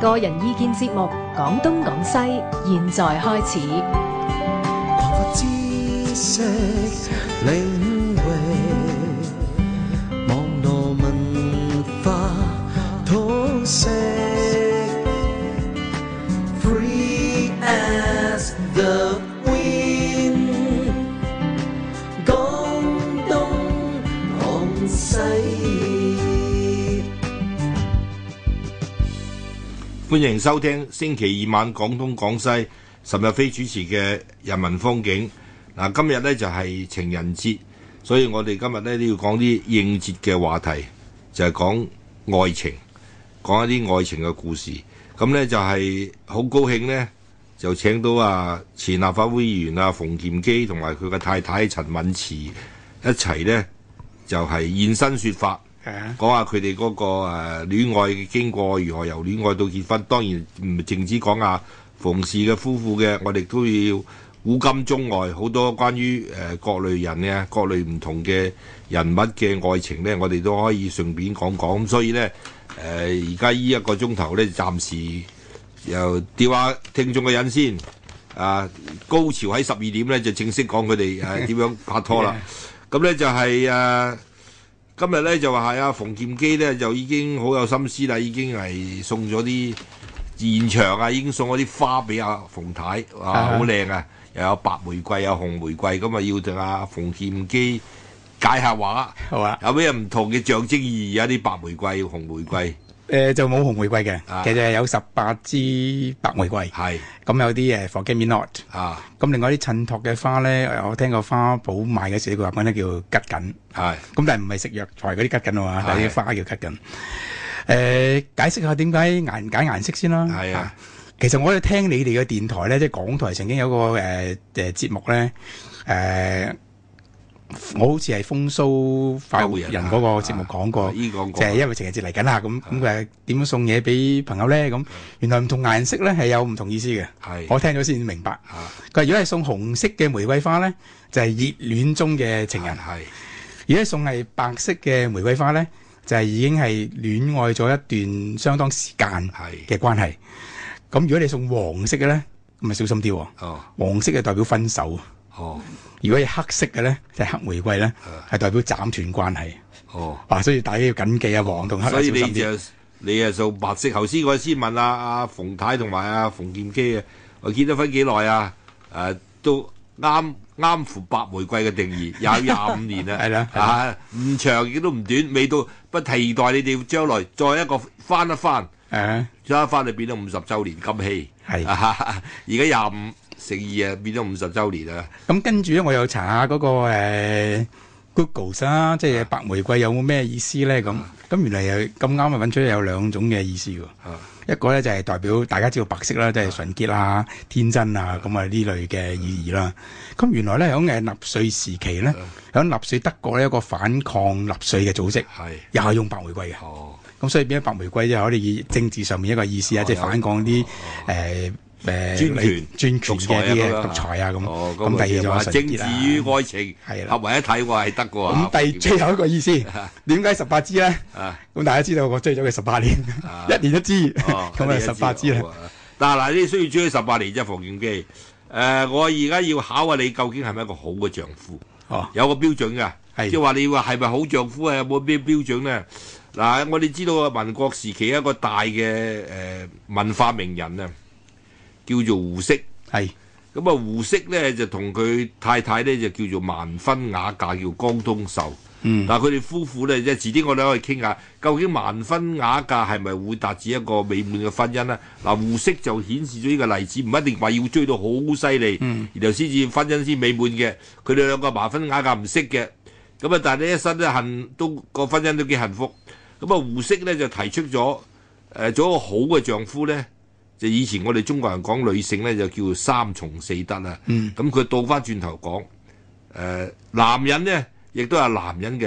個人意見節目《講東講西》，現在開始。 擴闊知識領域，網絡文化通識 ，Free as the wind， 講東講西。 歡迎收聽星期二晚廣東廣西岑日飛主持嘅人民風景。嗱，今日呢就係情人節，所以我哋今日呢都要講啲應節嘅話題，就係講愛情，講一啲愛情嘅故事。咁呢就係好高興呢，就請到前立法會議員馮檢基同埋佢嘅太太陳敏慈一齊呢，就係現身說法。講下佢哋嗰個戀愛嘅經過如何，由戀愛到結婚。當然唔淨止講下馮氏嘅夫婦嘅，我哋都要古今中外好多關於各類人嘅各類唔同嘅人物嘅愛情呢，我哋都可以順便講講。咁所以呢，而家呢一個鐘頭呢，暫時又吊下聽眾嘅癮先。高潮喺12點呢，就正式講佢哋點樣拍拖啦。咁呢就係今日咧就話係馮檢基咧就已經好有心思啦，已經係送咗啲現場已經送咗啲花俾馮太，哇，好靚啊！又有白玫瑰，有紅玫瑰，咁要同馮檢基解下話。好啊！有咩唔同嘅象徵意義啊？啲白玫瑰、紅玫瑰。 就冇紅玫瑰嘅，其實係有18支白玫瑰，咁有啲forget me not，咁另外啲襯托嘅花咧，我聽過花圃賣嘅時候，佢話講咧叫桔梗，咁但係唔係食藥材嗰啲桔梗啊，但係啲花叫桔梗。解釋下點解揀顏色先啦。其實我哋聽你哋嘅電台咧，即係港台曾經有個節目咧，我好似係風騷快活人嗰個節目講過，就係因為情人節嚟緊啦，咁佢係點樣送嘢俾朋友咧？咁原來唔同顏色咧係有唔同意思嘅。我聽咗先明白。佢話如果係送紅色嘅玫瑰花咧，就係熱戀中嘅情人；如果送係白色嘅玫瑰花咧，就係已經係戀愛咗一段相當時間嘅關係。咁如果你送黃色嘅咧，咁咪小心啲。黃色係代表分手。如果係黑色嘅咧，就係黑玫瑰咧，係代表斬斷關係。所以大家要謹記黃同黑。 所以你送白色。頭先我先問馮太同埋馮檢基我結咗婚幾耐啊？都啱乎白玫瑰嘅定義，有25年啦。係啦，唔長亦都唔短，未到不期待你哋將來再一個翻一翻。再一翻就變咗50週年金禧。而家25乘2變咗50週年啦。 咁跟住咧，我又查下嗰個Google 啦，即係白玫瑰有冇咩意思咧？咁原來又咁啱揾出有2種嘅意思喎。一個咧就係代表大家知道白色啦，即係純潔啊、天真啊咁呢類嘅意義啦。咁原來咧喺納粹時期咧，喺納粹德國呢一個反抗納粹嘅組織，又係用白玫瑰嘅。咁所以變咗白玫瑰就可以以政治上面一個意思即係反抗啲專權嘅啲獨裁咁。咁第二就係政治與愛情合為一體，係得嘅喎。 咁最後一個意思，點解18支咧？咁大家知道我追咗佢18年，1年1支，咁18支啦。 嗱，你需要追18年啫，馮檢基。我而家要考下你，究竟係咪一個好嘅丈夫？有個標準㗎，即係話你話係咪好丈夫有冇咩標準咧？嗱，我哋知道民國時期一個大嘅文化名人叫做胡適。咁胡適咧就同佢太太咧就叫做萬分雅嫁，叫江冬秀。但係佢哋夫婦咧，即係遲啲我哋可以傾下，究竟萬分雅嫁係咪會達至一個美滿嘅婚姻咧？胡適就顯示咗呢個例子，唔一定話要追到好犀利，然後先至婚姻先美滿嘅。佢哋兩個萬分雅嫁唔識嘅，咁但係呢一生咧都個婚姻都幾幸福。咁胡適咧就提出咗做一個好嘅丈夫咧，就以前我哋中國人講女性咧就叫3從4德啦。咁佢倒翻轉頭講，男人咧亦都有男人嘅